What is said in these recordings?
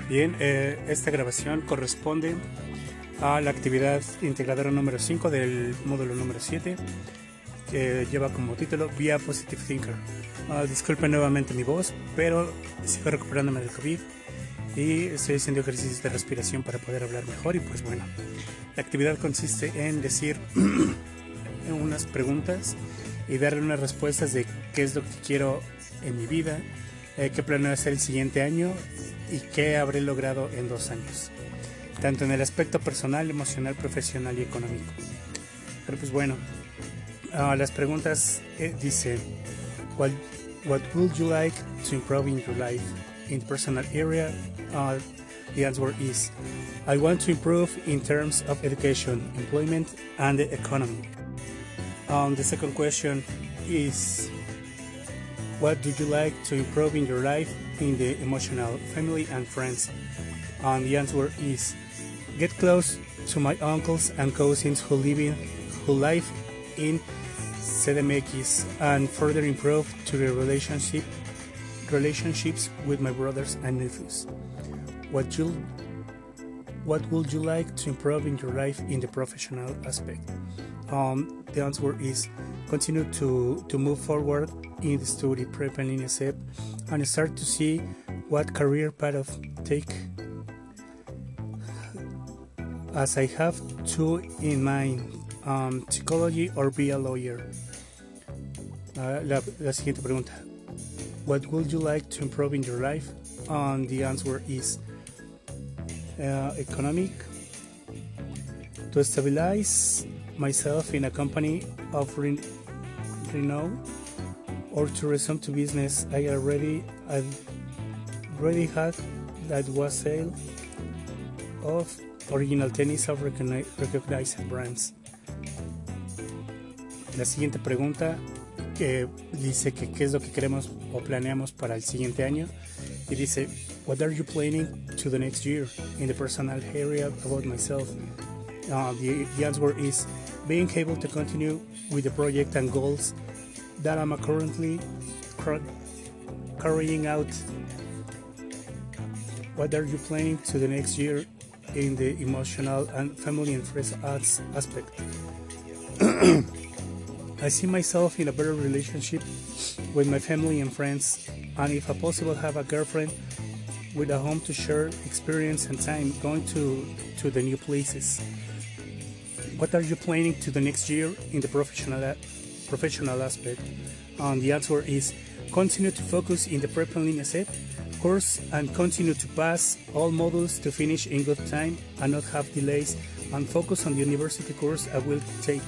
Bien, esta grabación corresponde a la actividad integradora número 5 del módulo número 7, que lleva como título Be a Positive Thinker. Disculpen nuevamente mi voz, pero sigo recuperándome del COVID y estoy haciendo ejercicios de respiración para poder hablar mejor. Y pues bueno, la actividad consiste en decir unas preguntas y darle unas respuestas de qué es lo que quiero en mi vida, qué planeo hacer el siguiente año y qué habré logrado en 2 años, tanto en el aspecto personal, emocional, profesional y económico. Pero pues bueno, las preguntas dice, what would you like to improve in your life? In the personal area, the answer is, I want to improve in terms of education, employment, and the economy. The second question is, what do you like to improve in your life in the emotional, family, and friends? And the answer is, get close to my uncles and cousins who live in CDMX and further improve to the relationships with my brothers and nephews. What would you like to improve in your life in the professional aspect? The answer is, continue to move forward in the study prep and INESEP and start to see what career path take, as I have two in mind, psychology or be a lawyer. La siguiente pregunta, what would you like to improve in your life? The answer is economic, to stabilize myself in a company of renown, or to resume to business I already had, that was sale of original tennis of recognized brands. La siguiente pregunta que dice que qué es lo que queremos o planeamos para el siguiente año, y dice, what are you planning to the next year in the personal area about myself? The answer is, being able to continue with the project and goals that I'm currently carrying out. What are you planning to the next year in the emotional and family and friends aspect? I see myself in a better relationship with my family and friends, and if possible have a girlfriend with a home to share experience and time going to the new places. What are you planning to the next year in the professional aspect? The answer is, continue to focus in the prep and INESEP course and continue to pass all modules to finish in good time and not have delays, and focus on the university course I will take.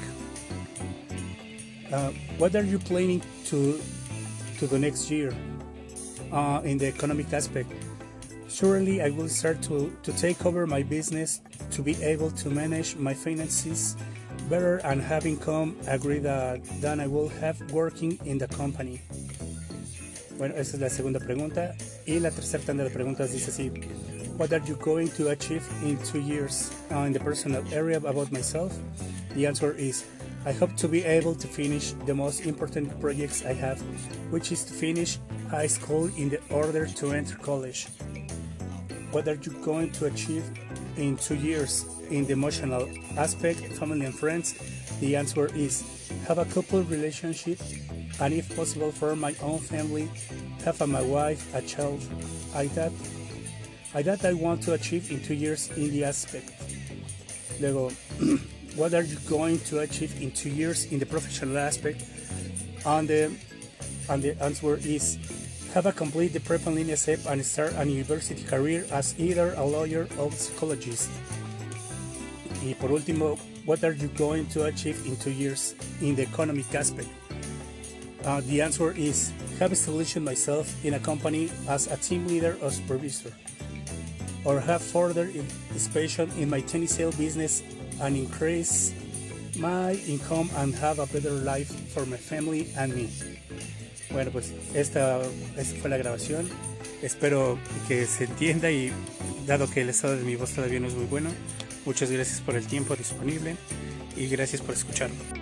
What are you planning to the next year in the economic aspect? Surely I will start to take over my business to be able to manage my finances better and have income agreed than I will have working in the company. Bueno, esa es la segunda pregunta. Y la tercera tanda de preguntas dice así, what are you going to achieve in 2 years in the personal area about myself? The answer is, I hope to be able to finish the most important projects I have, which is to finish high school in the order to enter college. What are you going to achieve in 2 years in the emotional aspect, family and friends? The answer is, have a couple relationship, and if possible form my own family, have my wife, a child. I want to achieve in 2 years in the aspect. Luego, what are you going to achieve in 2 years in the professional aspect? And the answer is, have a complete the prep and INESEP and start a university career as either a lawyer or psychologist. Y por último, what are you going to achieve in 2 years in the economic aspect? The answer is, have established myself in a company as a team leader or supervisor, or have further expansion in my tennis sale business and increase my income and have a better life for my family and me. Bueno, pues esta fue la grabación. Espero que se entienda, y dado que el estado de mi voz todavía no es muy bueno, muchas gracias por el tiempo disponible y gracias por escucharme.